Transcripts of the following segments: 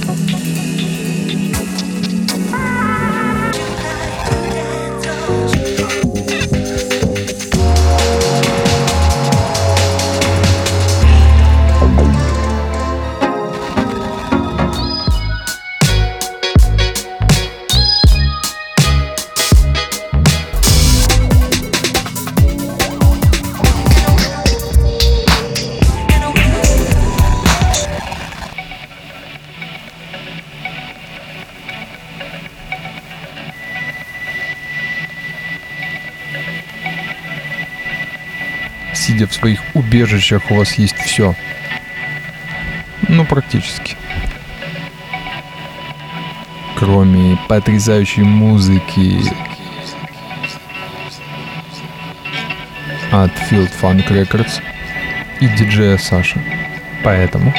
Сидя в своих убежищах, у вас есть все. Ну, практически. Кроме потрясающей музыки от Field Funk Records и диджея Саши. Поэтому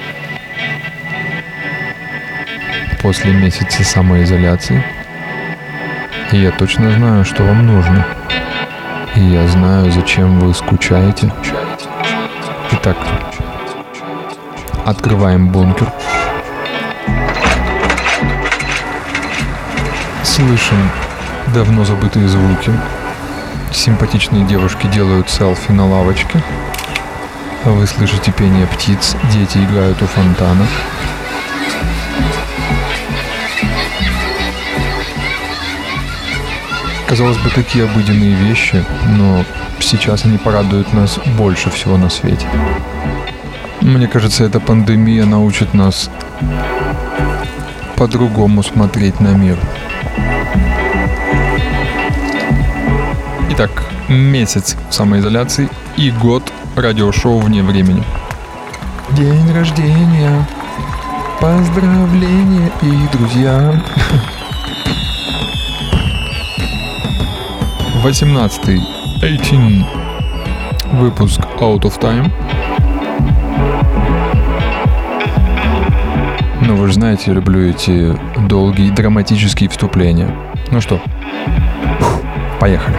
после месяца самоизоляции я точно знаю, что вам нужно. И я знаю, зачем вы скучаете. Итак, открываем бункер. Слышим давно забытые звуки. Симпатичные девушки делают селфи на лавочке. Вы слышите пение птиц, дети играют у фонтана. Казалось бы, такие обыденные вещи, но сейчас они порадуют нас больше всего на свете. Мне кажется, эта пандемия научит нас по-другому смотреть на мир. Итак, месяц самоизоляции и год радиошоу «Вне времени». День рождения, поздравления и друзья. 18 выпуск Out of Time. Ну, вы же знаете, я люблю эти долгие драматические вступления. Ну что, поехали.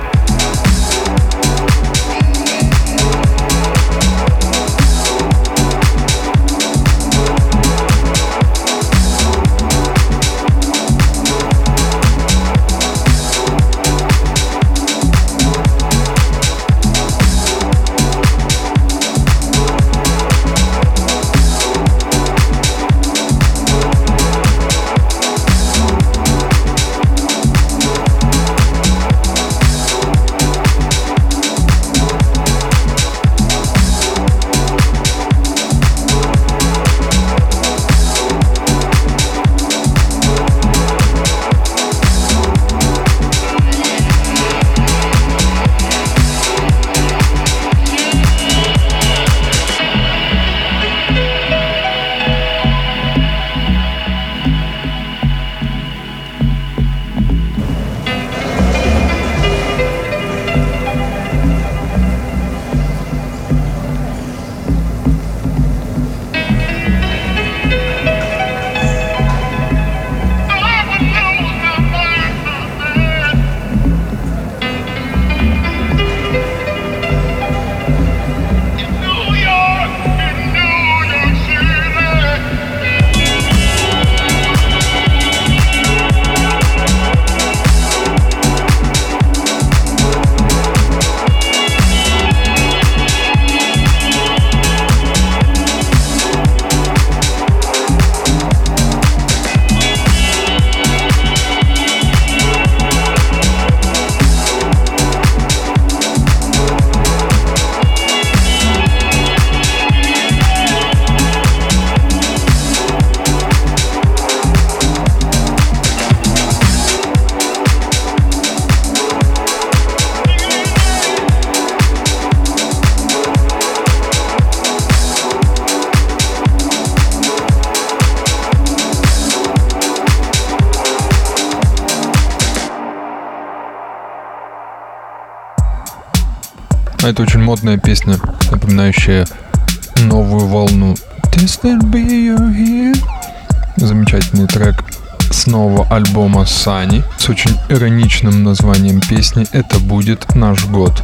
Это очень модная песня, напоминающая новую волну. This will be your here. Замечательный трек с нового альбома Сани с очень ироничным названием песни «Это будет наш год».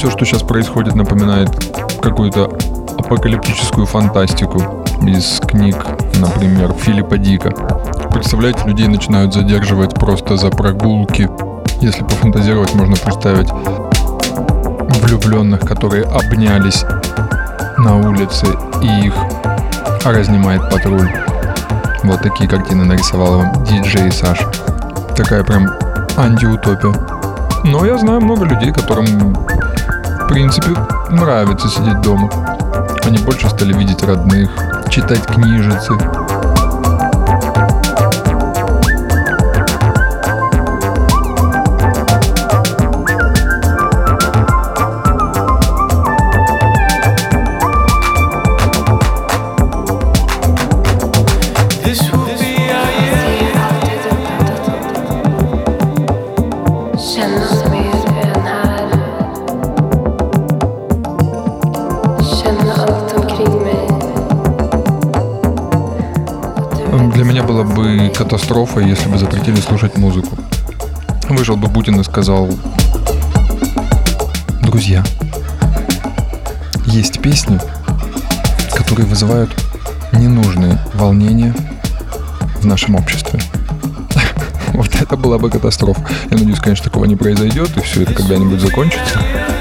Все, что сейчас происходит, напоминает какую-то апокалиптическую фантастику из книг, например, Филиппа Дика. Представляете, людей начинают задерживать просто за прогулки. Если пофантазировать, можно представить влюбленных, которые обнялись на улице, и их разнимает патруль. Вот такие картины нарисовал вам диджей Саша. Такая прям антиутопия. Но я знаю много людей, которым, в принципе, нравится сидеть дома. Они больше стали видеть родных, читать книжицы. Для меня была бы катастрофа, если бы запретили слушать музыку. Вышел бы Путин и сказал: друзья, есть песни, которые вызывают ненужные волнения в нашем обществе. Вот это была бы катастрофа. Я надеюсь, конечно, такого не произойдет, и все это когда-нибудь закончится.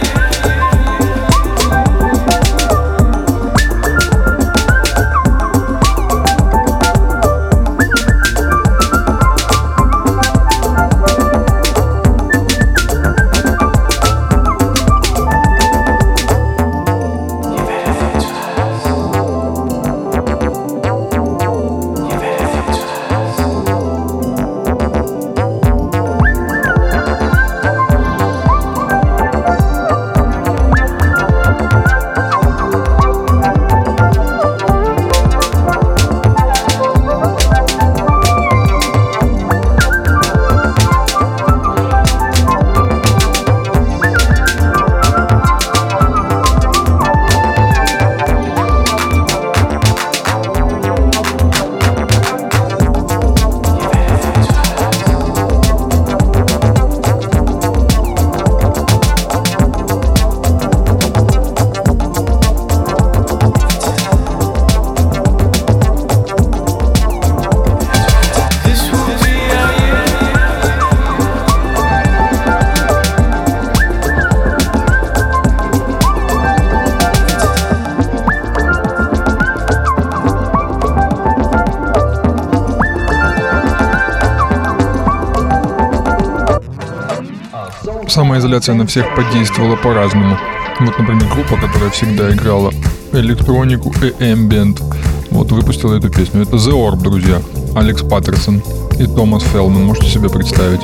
Самоизоляция на всех подействовала по-разному. Вот, например, группа, которая всегда играла электронику и эмбиент, вот выпустила эту песню. Это The Orb, друзья. Алекс Паттерсон и Томас Фелман. Можете себе представить?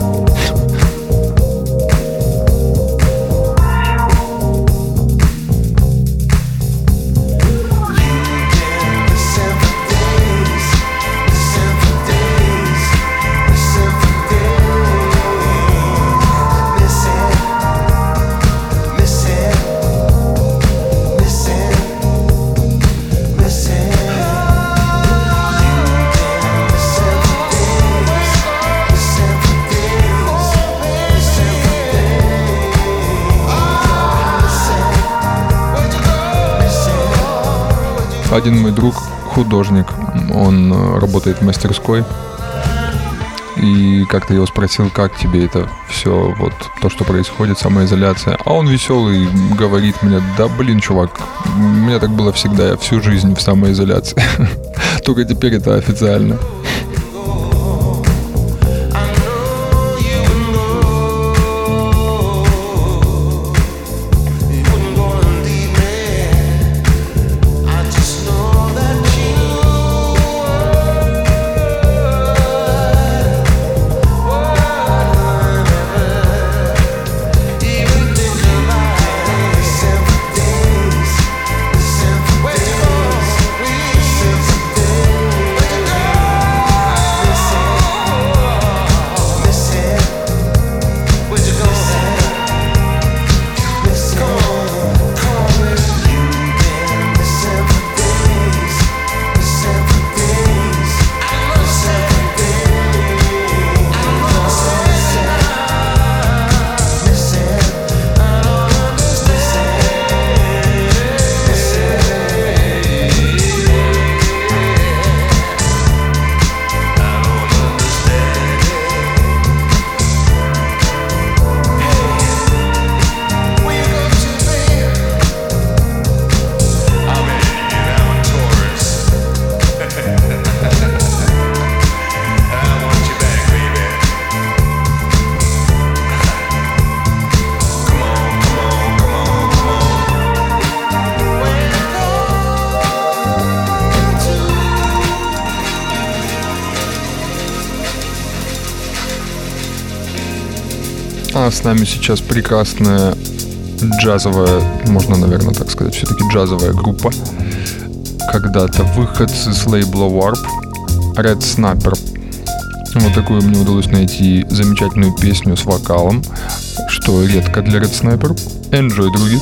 Один мой друг художник, он работает в мастерской, и как-то я его спросил, как тебе это все, вот то, что происходит, самоизоляция. А он веселый, говорит мне: да блин, чувак, у меня так было всегда, я всю жизнь в самоизоляции. Только теперь это официально. А с нами сейчас прекрасная джазовая, можно, наверное, так сказать, все-таки джазовая группа. Когда-то выходцы с лейбла Warp, Red Snapper. Вот такую мне удалось найти замечательную песню с вокалом, что редко для Red Snapper. Enjoy, други!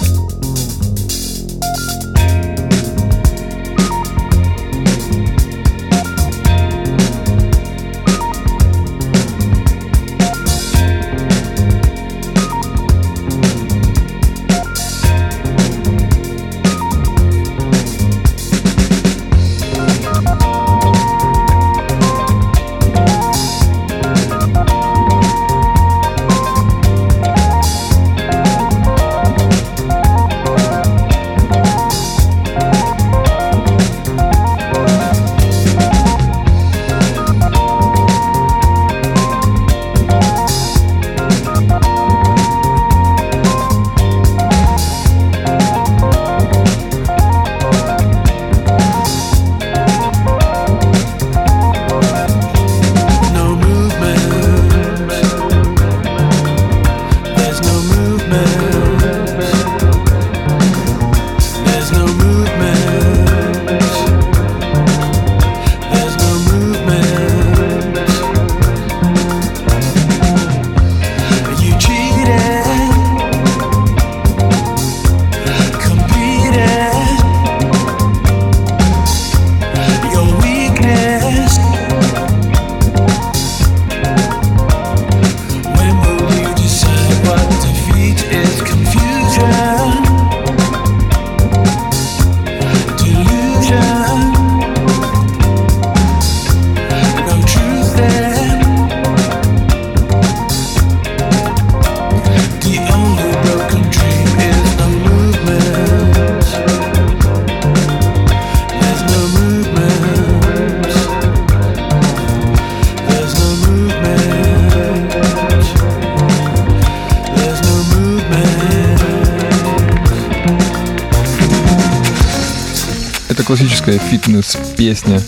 Классическая фитнес-песня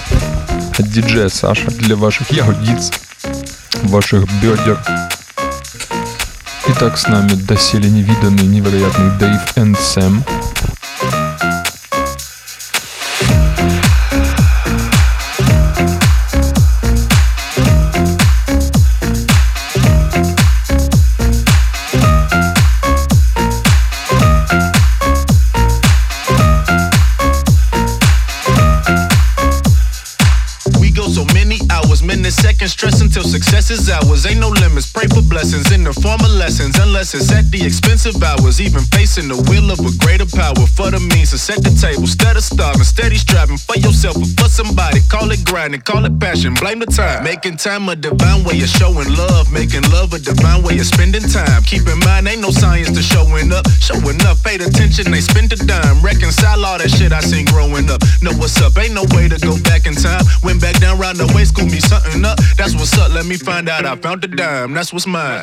от диджея Саша для ваших ягодиц, ваших бедер. Итак, с нами доселе невиданный, невероятный Дэйв энд Сэм. Stress until success is ours. Ain't no limits. Pray for blessings in the form of lessons, unless it's at the expensive hours. Even facing the will of a greater power for the means to set the table. Instead of starving, steady striving for yourself or for somebody. Call it grinding, call it passion. Blame the time. Making time a divine way of showing love. Making love a divine way of spending time. Keep in mind, ain't no science to showing up. Showing up, paid attention, they spend a dime. Reconcile all that shit I seen growing up. Know what's up, ain't no way to go back in time. Went back down round the way, school me something up. That's what's up, let me find out I found the dime. That's what's mine.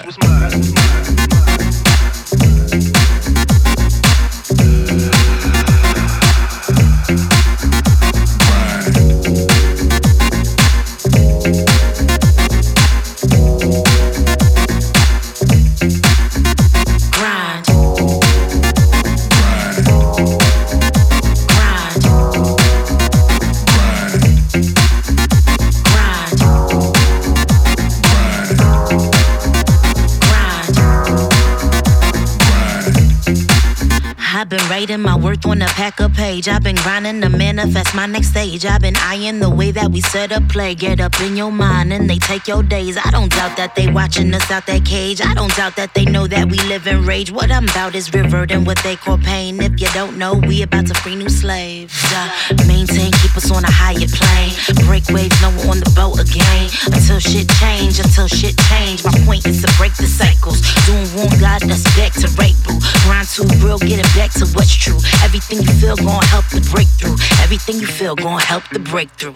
I've been writing my worth on a packer page. I've been grinding to manifest my next stage. I've been eyeing the way that we set up play. Get up in your mind and they take your days. I don't doubt that they watching us out that cage. I don't doubt that they know that we live in rage. What I'm about is reverting what they call pain. If you don't know, we about to free new slaves. Maintain, keep us on a higher plane. Break waves, no one on the boat again. Until shit change, My point is to break the cycles. Doing wrong, God, that's back to right, boo. Grind too real, get it back to what's true. Everything you feel gon' help the breakthrough. Everything you feel gon' help the breakthrough.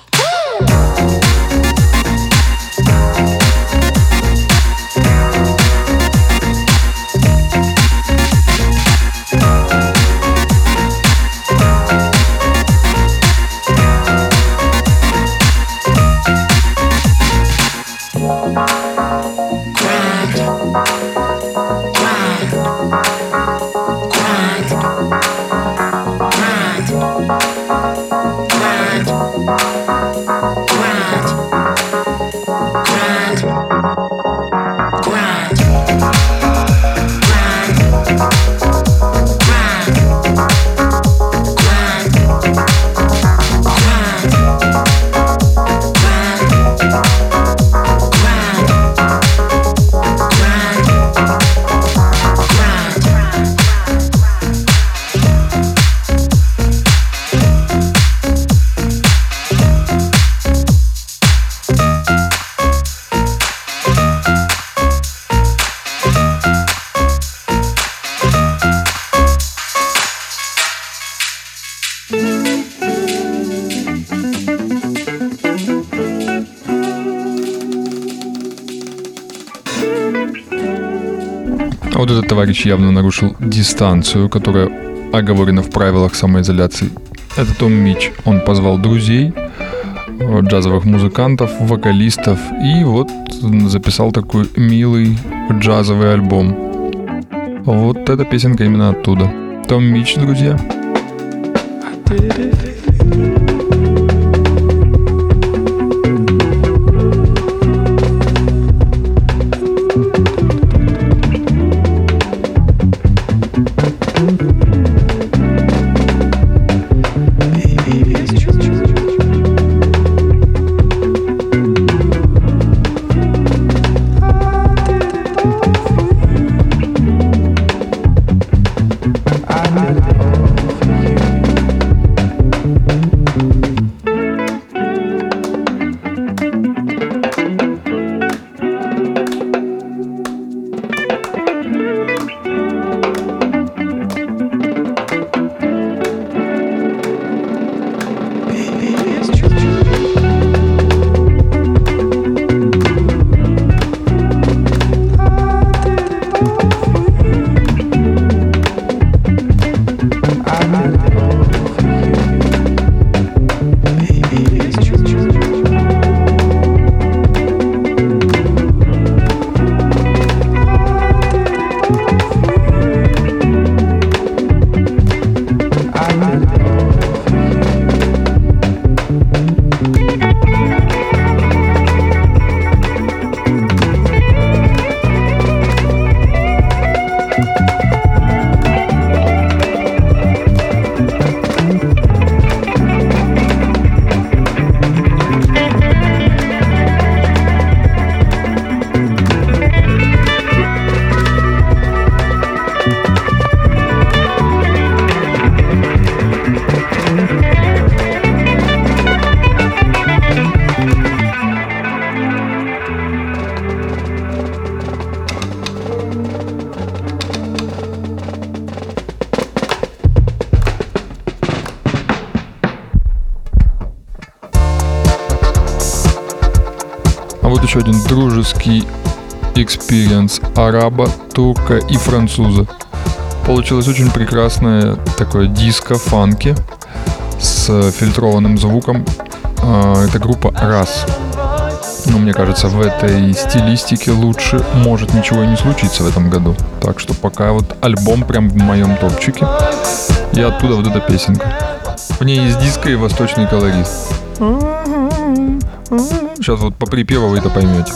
Вот этот товарищ явно нарушил дистанцию, которая оговорена в правилах самоизоляции. Это Том Мич. Он позвал друзей, джазовых музыкантов, вокалистов и вот записал такой милый джазовый альбом. Вот эта песенка именно оттуда. Том Мич, друзья. Вот еще один дружеский экспириенс араба, турка и француза. Получилось очень прекрасное такое диско-фанки с фильтрованным звуком. Это группа Раз. Но мне кажется, в этой стилистике лучше может ничего и не случиться в этом году. Так что пока вот альбом прям в моем топчике. И оттуда вот эта песенка. В ней есть диско и восточный колорит. Сейчас вот по припеву вы это поймете.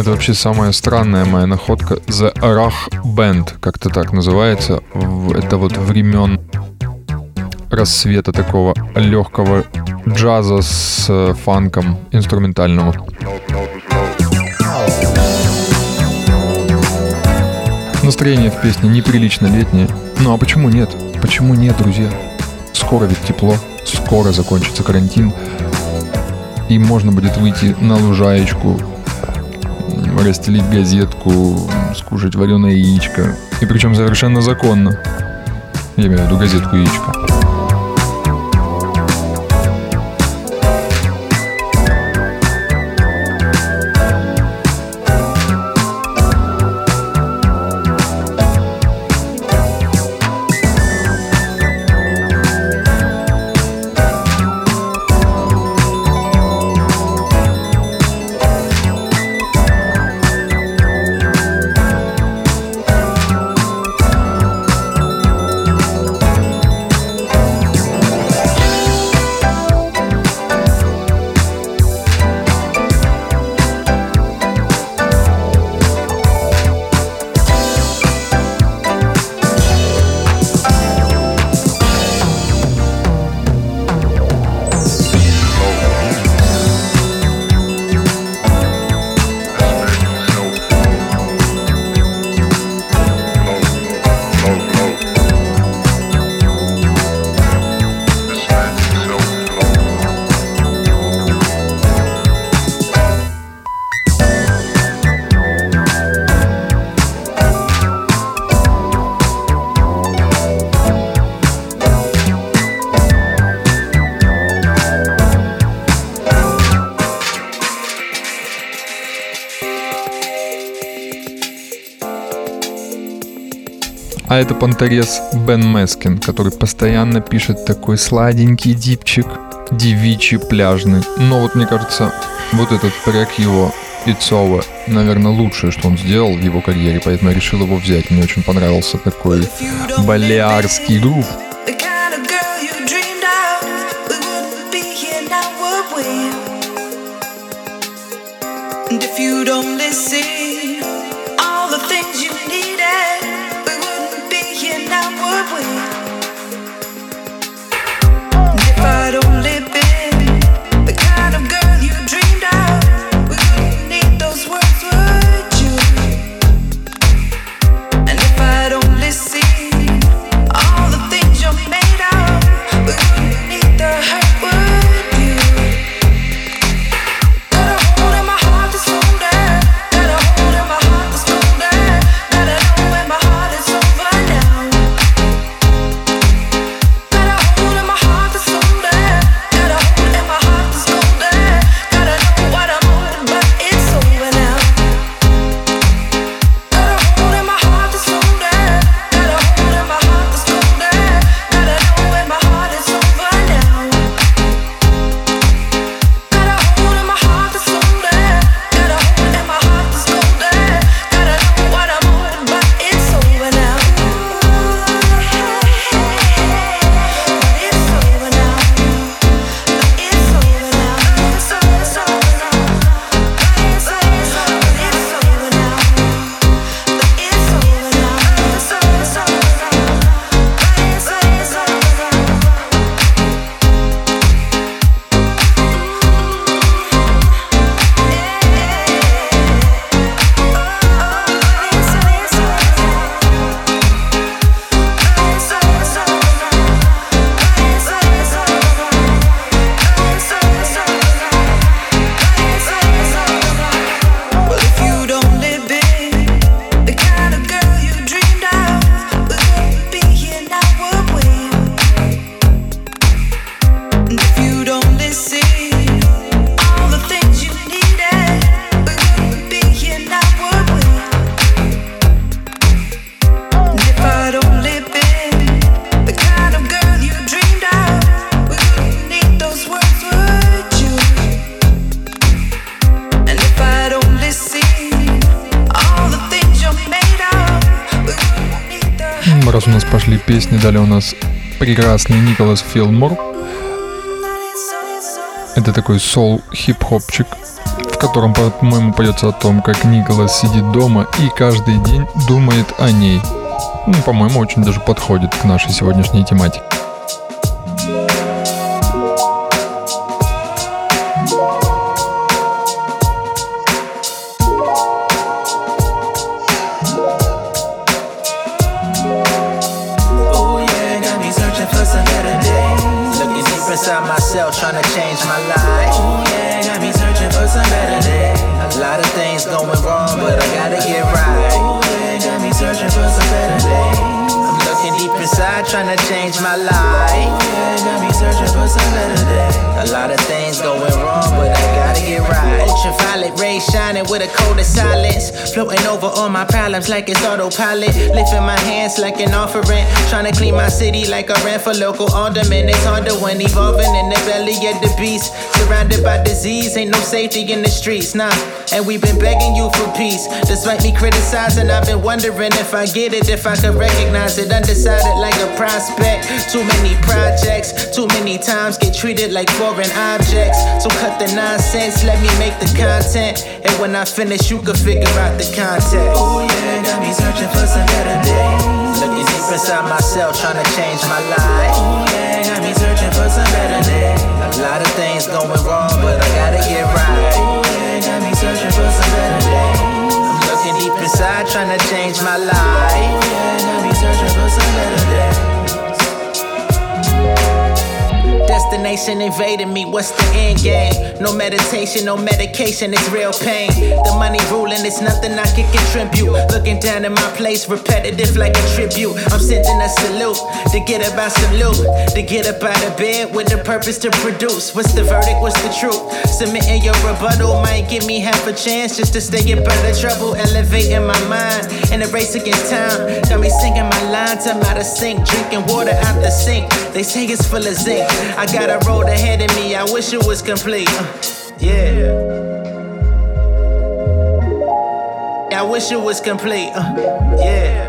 Это вообще самая странная моя находка. The Rach Band, как-то так называется. Это вот времен рассвета такого легкого джаза с фанком инструментального. Настроение в песне неприлично летнее. Ну а почему нет? Почему нет, друзья? Скоро ведь тепло, скоро закончится карантин. И можно будет выйти на лужаечку, расстелить газетку, скушать вареное яичко. И причем совершенно законно. Я имею в виду газетку яичко. А это понторез Бен Мескин, который постоянно пишет такой сладенький дипчик, девичий, пляжный. Но вот мне кажется, вот этот трек его It's Over, наверное, лучшее, что он сделал в его карьере, поэтому я решил его взять. Мне очень понравился такой балиарский грув. Раз у нас пошли песни, далее у нас прекрасный Николас Филмор. Это такой соул-хип-хопчик, в котором, по-моему, поется о том, как Николас сидит дома и каждый день думает о ней. По-моему, очень даже подходит к нашей сегодняшней тематике. Trying to change my life. Oh yeah, got me searching for some better days. A lot of things going wrong, but I gotta get right. Oh yeah, got me searching for some better days. I'm looking deep inside, trying to change my life. Oh yeah, got me searching for some better days. A lot of things going wrong, but I gotta get right. Ultraviolet rays shining with a coat of silence, floating over all my problems like it's autopilot. Lifting my hands like an offering, trying to clean my city like I ran for local alderman. It's harder when evolving in the belly of the beast. Surrounded by disease, ain't no safety in the streets, nah. And we've been begging you for peace. Despite me criticizing, I've been wondering if I get it, if I could recognize it. Undecided like a prospect. Too many projects, too many times get treated like foreign objects. So cut the nonsense, let me make the content. And when I finish, you can figure out the context. Oh yeah, got me searching for some better days. Looking deep inside myself, trying to change my life. Oh yeah, got me searching for some better days. A lot of things going wrong, but I gotta get right. Oh yeah, got me searching for some better days. I'm looking deep inside, trying to change my life. Oh yeah, got me searching for some better days. Destination invading me, what's the end game? No meditation, no medication, it's real pain. The money ruling, it's nothing I can contribute. Looking down at my place, repetitive like a tribute. I'm sending a salute to get up out some loot, to get up out of bed with the purpose to produce. What's the verdict, what's the truth? Submitting your rebuttal might give me half a chance just to stay up out of trouble. Elevating my mind in a race against time. Got me singing my lines, I'm out of sync. Drinking water out the sink, they say it's full of zinc. I got a road ahead of me, I wish it was complete. Yeah, I wish it was complete. Yeah.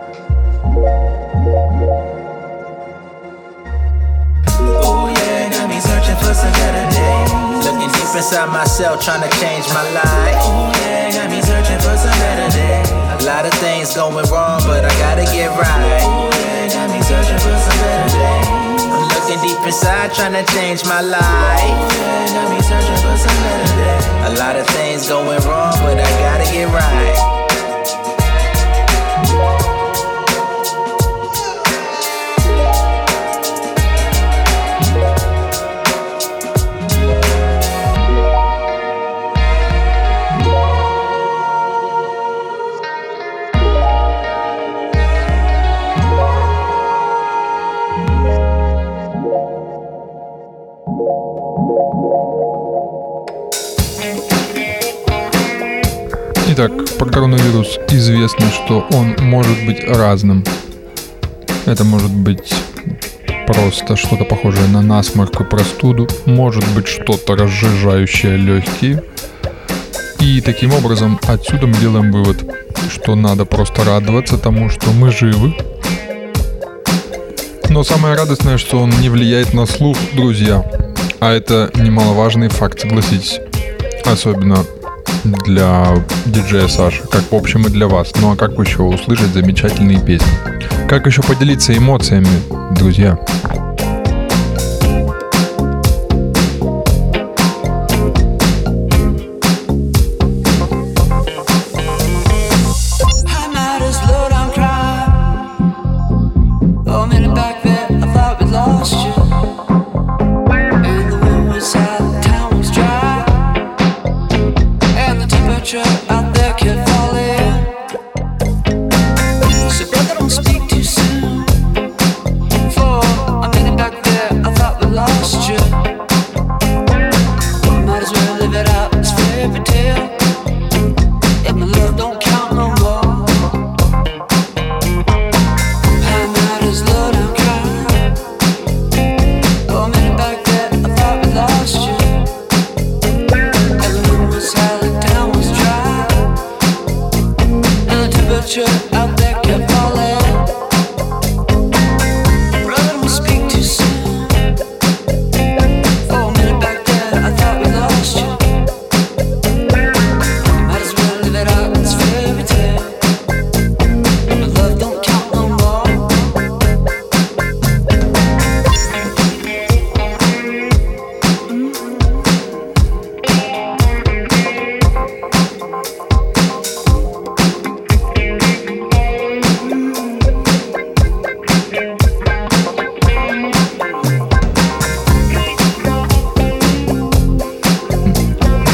Oh yeah, got me searching for some better days. Looking deep inside myself, trying to change my life. Oh yeah, got me searching for some better days. A lot of things going wrong, but I gotta get right. Oh yeah, got me searching for some better days. Looking deep inside, trying to change my life. Yeah, got me searching for some better days. A lot of things going wrong, but I gotta get right. Итак, про коронавирус известно, что он может быть разным. Это может быть просто что-то похожее на насморк и простуду, может быть что-то разжижающее легкие. И таким образом отсюда мы делаем вывод, что надо просто радоваться тому, что мы живы. Но самое радостное, что он не влияет на слух, друзья. А это немаловажный факт, согласитесь. Особенно для диджея Саши, как в общем и для вас. Ну а как еще услышать замечательные песни? Как еще поделиться эмоциями, друзья?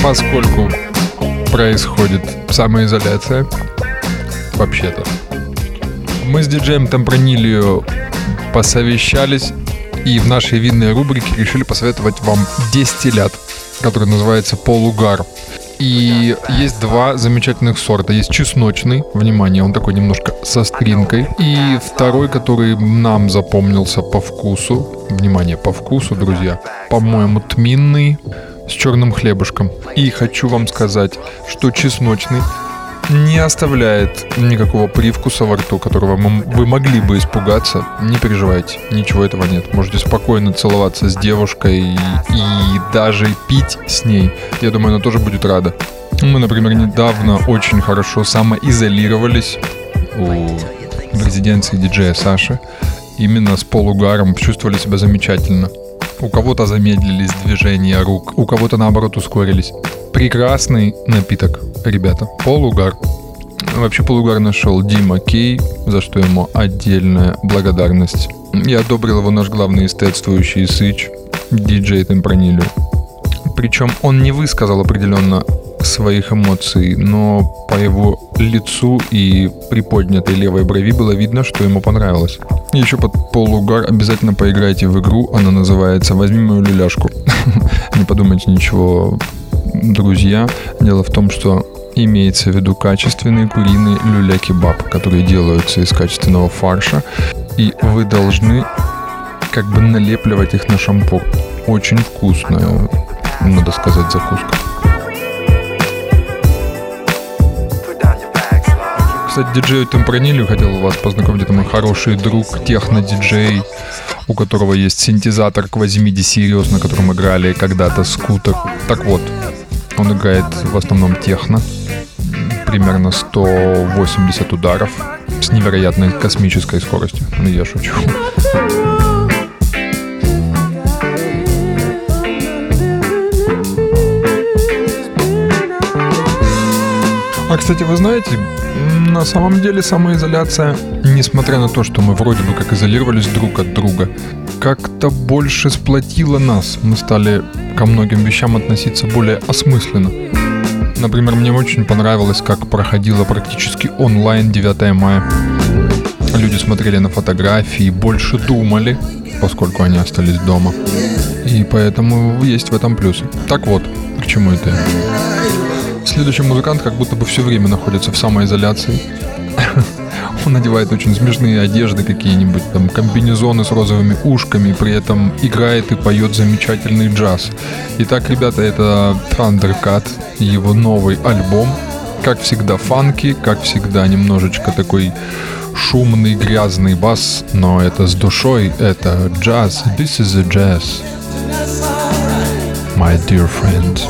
поскольку происходит самоизоляция, вообще-то, мы с диджеем Темпранильо посовещались и в нашей винной рубрике решили посоветовать вам дестиллят, который называется Полугар. И есть два замечательных сорта. Есть чесночный, внимание, он такой немножко со остринкой. И второй, который нам запомнился по вкусу, внимание, по вкусу, друзья, по-моему, тминный с черным хлебушком. И хочу вам сказать, что чесночный не оставляет никакого привкуса во рту, которого вы могли бы испугаться. Не переживайте, ничего этого нет. Можете спокойно целоваться с девушкой и даже пить с ней. Я думаю, она тоже будет рада. Мы, например, недавно очень хорошо самоизолировались в резиденции диджея Саши. Именно с полугаром чувствовали себя замечательно. У кого-то замедлились движения рук, у кого-то наоборот ускорились. Прекрасный напиток, ребята. Полугар. Вообще полугар нашел Дима Кей, за что ему отдельная благодарность. И одобрил его наш главный эстетствующий сыч, диджей Темпранильо. Причем он не высказал определенно своих эмоций, но по его лицу и приподнятой левой брови было видно, что ему понравилось. И еще под полугар обязательно поиграйте в игру, она называется «Возьми мою люляшку». Не подумайте ничего, друзья. Дело в том, что имеется в виду качественный куриный люля-кебаб, которые делаются из качественного фарша, и вы должны как бы налепливать их на шампур. Очень вкусная, надо сказать, закуска. Кстати, диджею Темпранильо хотел вас познакомить. Это мой хороший друг, техно-диджей, у которого есть синтезатор Quasimidi Sirius, на котором играли когда-то Скутер. Так вот, он играет в основном техно, примерно 180 ударов с невероятной космической скоростью. Я шучу. А, кстати, вы знаете, на самом деле самоизоляция, несмотря на то, что мы вроде бы как изолировались друг от друга, как-то больше сплотила нас. Мы стали ко многим вещам относиться более осмысленно. Например, мне очень понравилось, как проходило практически онлайн 9 мая. Люди смотрели на фотографии, больше думали, поскольку они остались дома. И поэтому есть в этом плюсы. Так вот, к чему это? Следующий музыкант как будто бы все время находится в самоизоляции. Он надевает очень смешные одежды, какие-нибудь там комбинезоны с розовыми ушками, при этом играет и поет замечательный джаз. Итак, ребята, это Thundercat, его новый альбом. Как всегда фанки, как всегда немножечко такой шумный, грязный бас, но это с душой, это джаз. This is a jazz, my dear friend.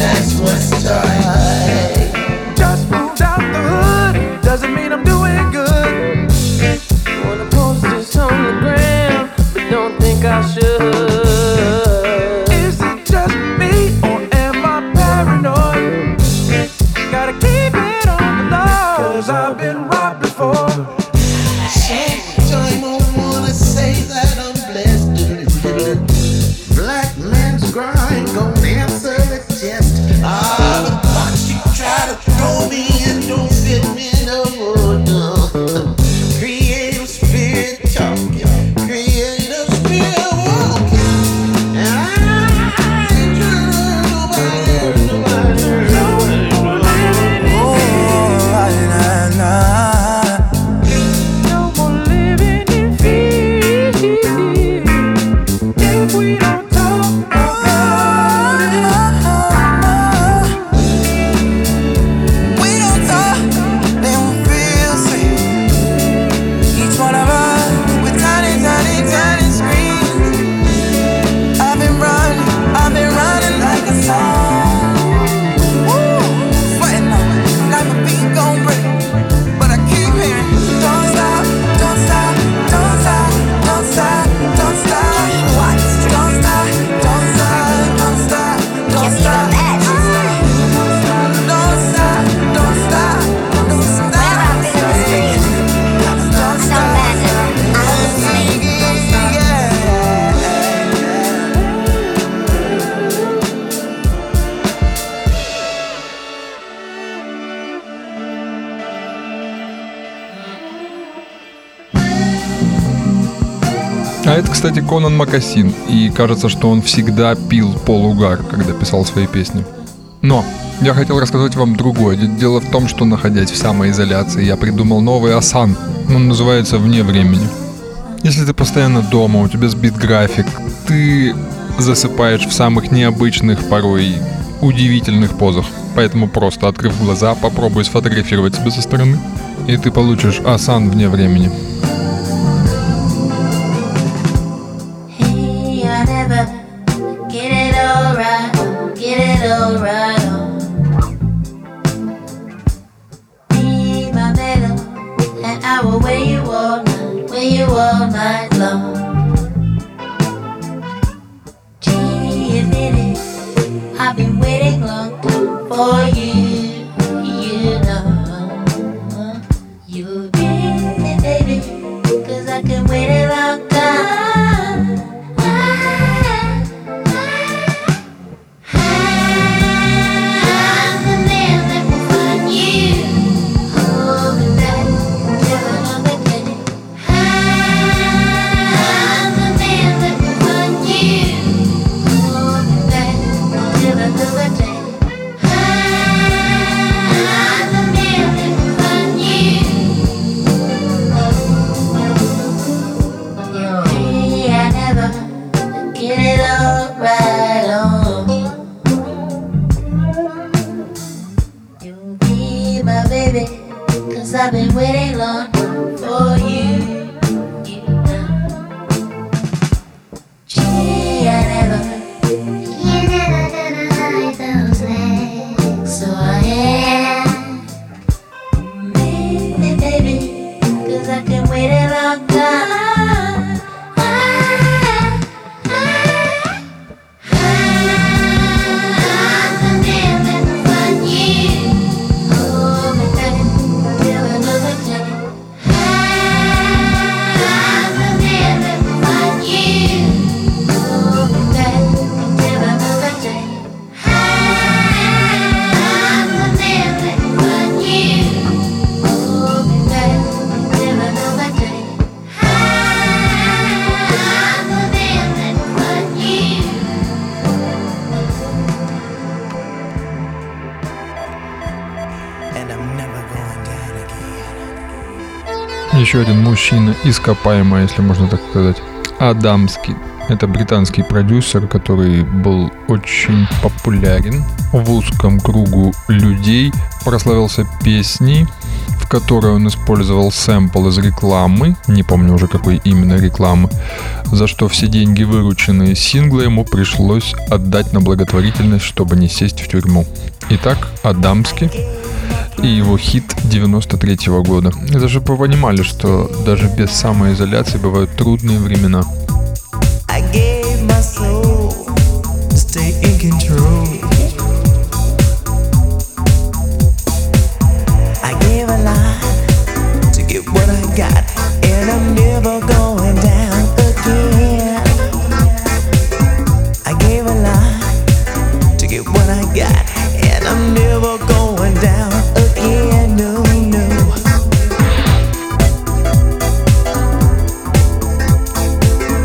Just moved out the hood, doesn't mean I'm doing good. Wanna post this on the gram, but don't think I should. Is it just me or am I paranoid? Gotta keep it on the low, 'cause I've been robbed before. Sometimes I wanna say that I'm blessed. Black man's grind gon' answer the test. But you try to throw me and don't fit me no more. No. Creative spirit talking, creative spirit walking. And I ain't trying to nobody. Oh, nah, nah. А это, кстати, Конан Макасин, и кажется, что он всегда пил полугар, когда писал свои песни. Но я хотел рассказать вам другое. Дело в том, что, находясь в самоизоляции, я придумал новый асан. Он называется «Вне времени». Если ты постоянно дома, у тебя сбит график, ты засыпаешь в самых необычных, порой удивительных позах. Поэтому просто, открыв глаза, попробуй сфотографировать себя со стороны, и ты получишь асан вне времени. I've been waiting long for you, you know. You'll be me, baby, 'cause I can wait a long time. I'm the man that will find you. Hold me back till another day. I'm the man that will find you. Hold me back till another day. I'm the man that will find you. Yeah, I never get it all right on. You'll be my baby, 'cause I've been waiting long for you. You know. Gee, I never gonna hide those legs. So I am me, baby, 'cause I can wait a long time. I'm the man that will find you. Hold me back till another day. I'm the man that will find you. Hold me back till another day. I'm the man that will find you. Hold me back till another day. I'm the man that will find you. And I'm never going down again. Еще один мужчина, ископаемый, если можно так сказать, Адамский. Это британский продюсер, который был очень популярен в узком кругу людей, прославился песней, в которой он использовал сэмпл из рекламы, не помню уже какой именно рекламы, за что все деньги, вырученные из сингла, ему пришлось отдать на благотворительность, чтобы не сесть в тюрьму. Итак, Адамский и его хит 93-го года. Это же вы понимали, что даже без самоизоляции бывают трудные времена. I gave my soul to stay in control. I gave a lot to get what I got, and I'm never going down again. I gave a lot to get what I got, and I'm never going down again. No, no.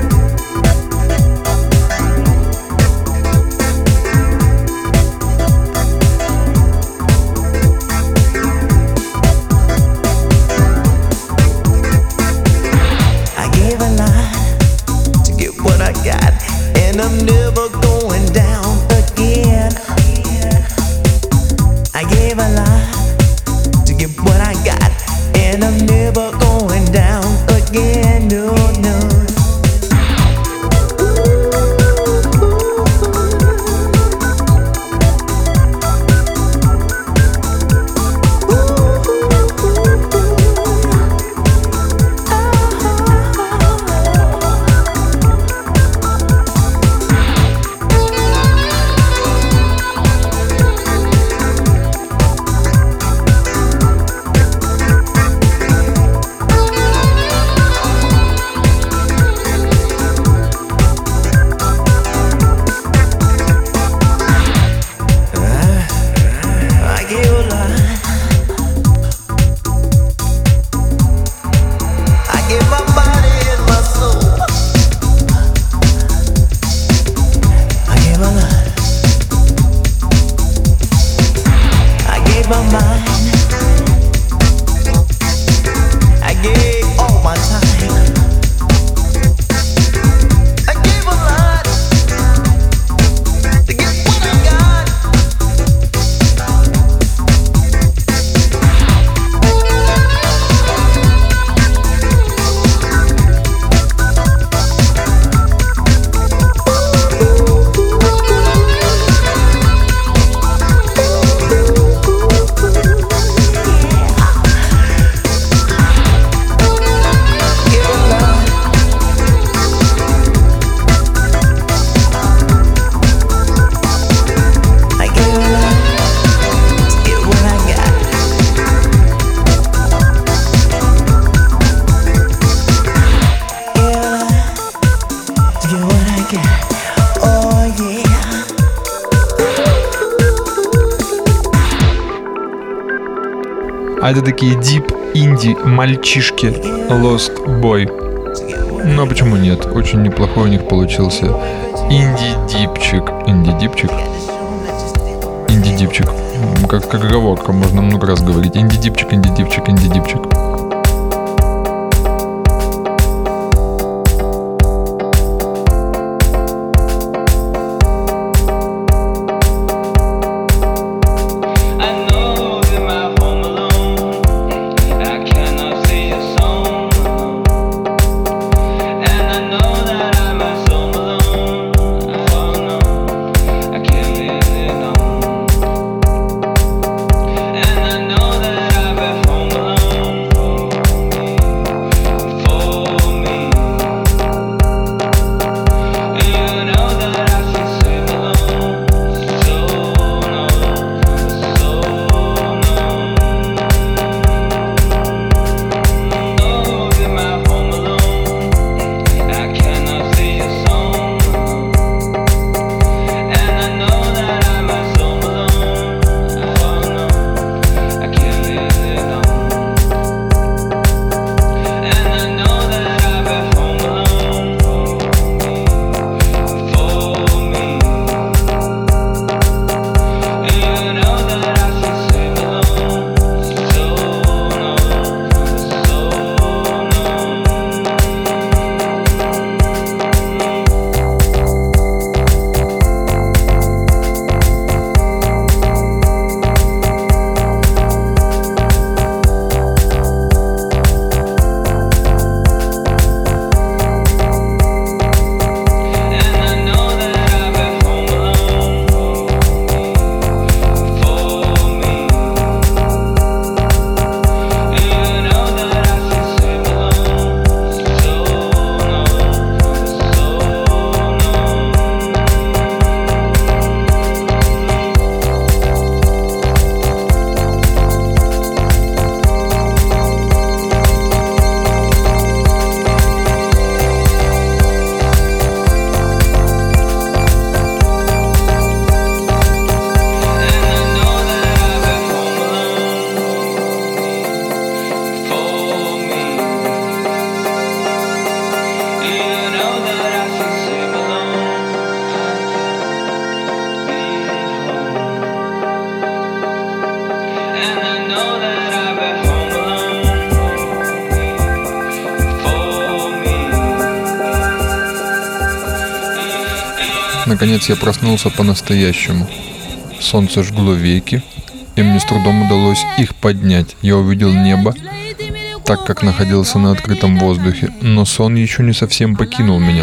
А это такие дип инди мальчишки Lost Boy. Ну а почему нет? Очень неплохой у них получился инди-дипчик. Инди-дипчик? Инди-дипчик. Как оговорка, можно много раз говорить. Инди-дипчик, инди-дипчик, инди-дипчик. Наконец я проснулся по-настоящему. Солнце жгло веки, и мне с трудом удалось их поднять. Я увидел небо, так как находился на открытом воздухе, но сон еще не совсем покинул меня.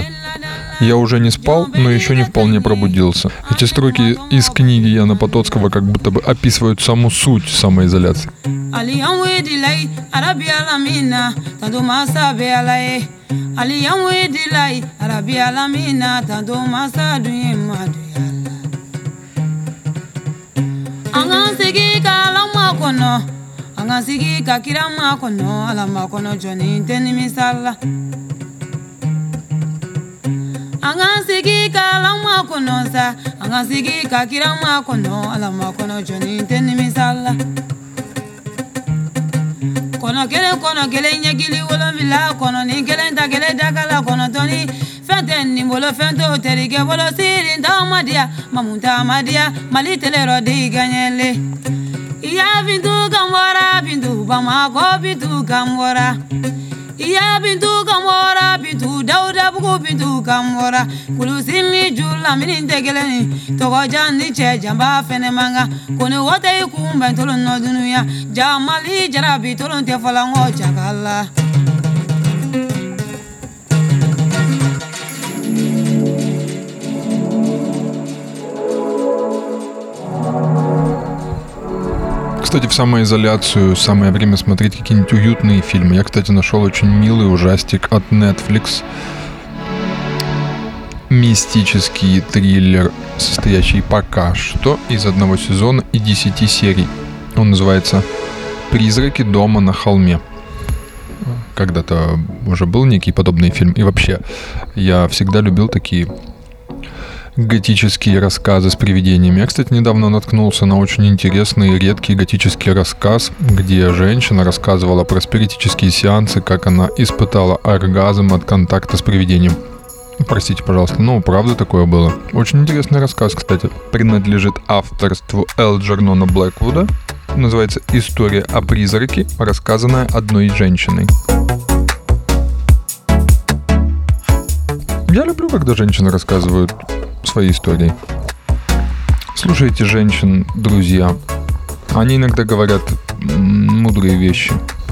Я уже не спал, но еще не вполне пробудился. Эти строки из книги Яна Потоцкого как будто бы описывают саму суть самоизоляции. Angasigi kalama kono sa, angasigi kakirama kono, alama kono joni teni misala. Kono kele nyegili wolo vila kono ni kele ta kele dakala kono toni. Fente ni bolo fento terike bolo siri nta madia, mamunta madia, mali tele rodi ganyele. Iya bintu kamora bintu bamako bintu kamora. Iya bintu kamora bintu dauda buku bintu kamora kulusimi jula mini tegeleni togo jani che jamba fene manga kone wote ikumba tolon no dunuya jamali jarabi tolon te falango chakala. Кстати, в самоизоляцию самое время смотреть какие-нибудь уютные фильмы. Я, кстати, нашел очень милый ужастик от Netflix. Мистический триллер, состоящий пока что из 1 сезона и 10 серий. Он называется «Призраки дома на холме». Когда-то уже был некий подобный фильм. И вообще, я всегда любил такие готические рассказы с привидениями. Я, кстати, недавно наткнулся на очень интересный и редкий готический рассказ, где женщина рассказывала про спиритические сеансы, как она испытала оргазм от контакта с привидением. Простите, пожалуйста, но правда такое было. Очень интересный рассказ, кстати. Принадлежит авторству Элджернона Блэквуда. Называется «История о призраке, рассказанная одной женщиной». Я люблю, когда женщины рассказывают свои истории. Слушайте женщин, друзья. Они иногда говорят мудрые вещи.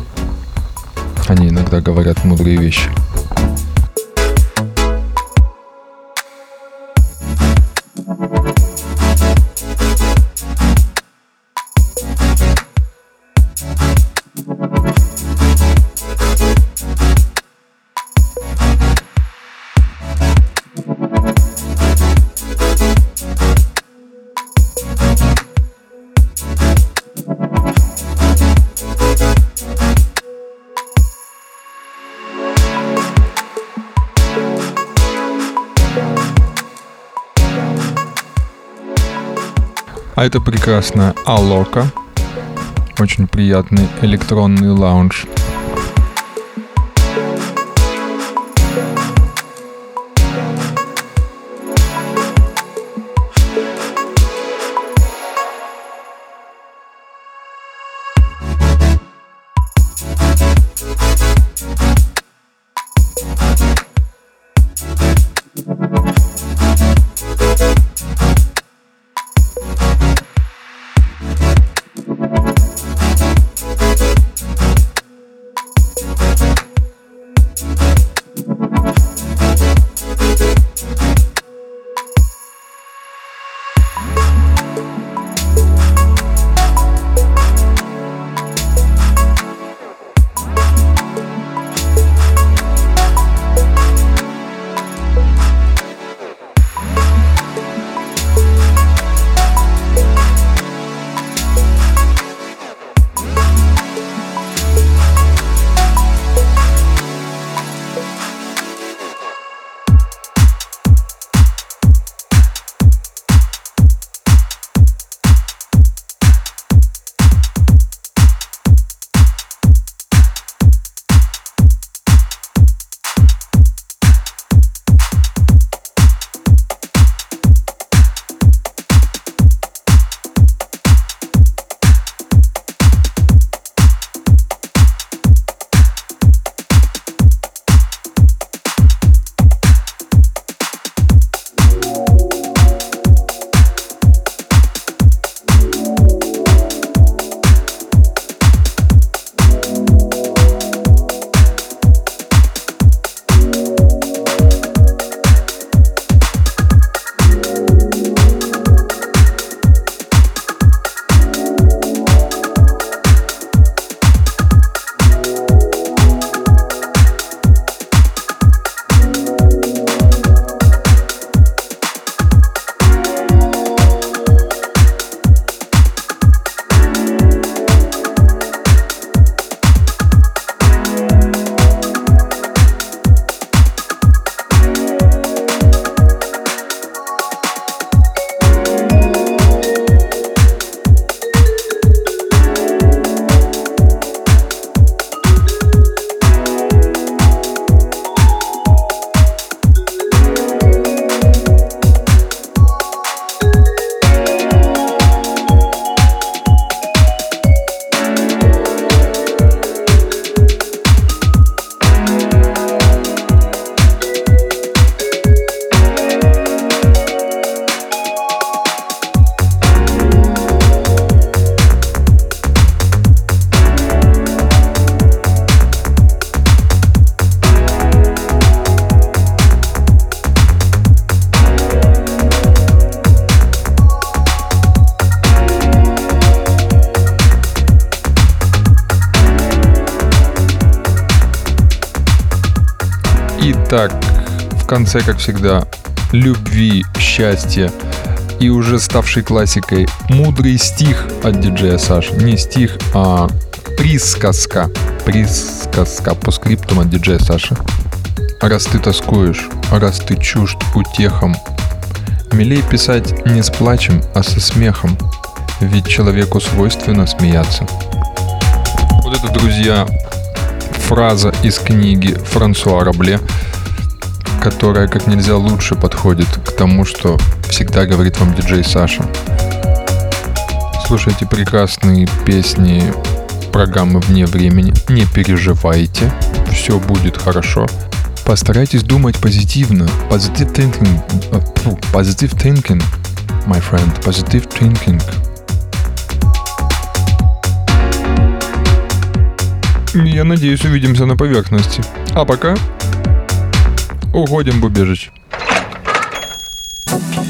А это прекрасная Алока. Очень приятный электронный лаунж. Итак, в конце, как всегда, любви, счастья и уже ставший классикой мудрый стих от диджея Саши. Не стих, а присказка. Присказка по скриптум от диджея Саши. Раз ты тоскуешь, раз ты чужд утехам, Милей писать не с плачем, а со смехом, ведь человеку свойственно смеяться. Вот это, друзья, фраза из книги Франсуа Рабле, которая как нельзя лучше подходит к тому, что всегда говорит вам диджей Саша. Слушайте прекрасные песни программы «Вне времени». Не переживайте, все будет хорошо. Постарайтесь думать позитивно. Positive thinking, my friend. Positive thinking. Я надеюсь, увидимся на поверхности. А пока уходим в убежище.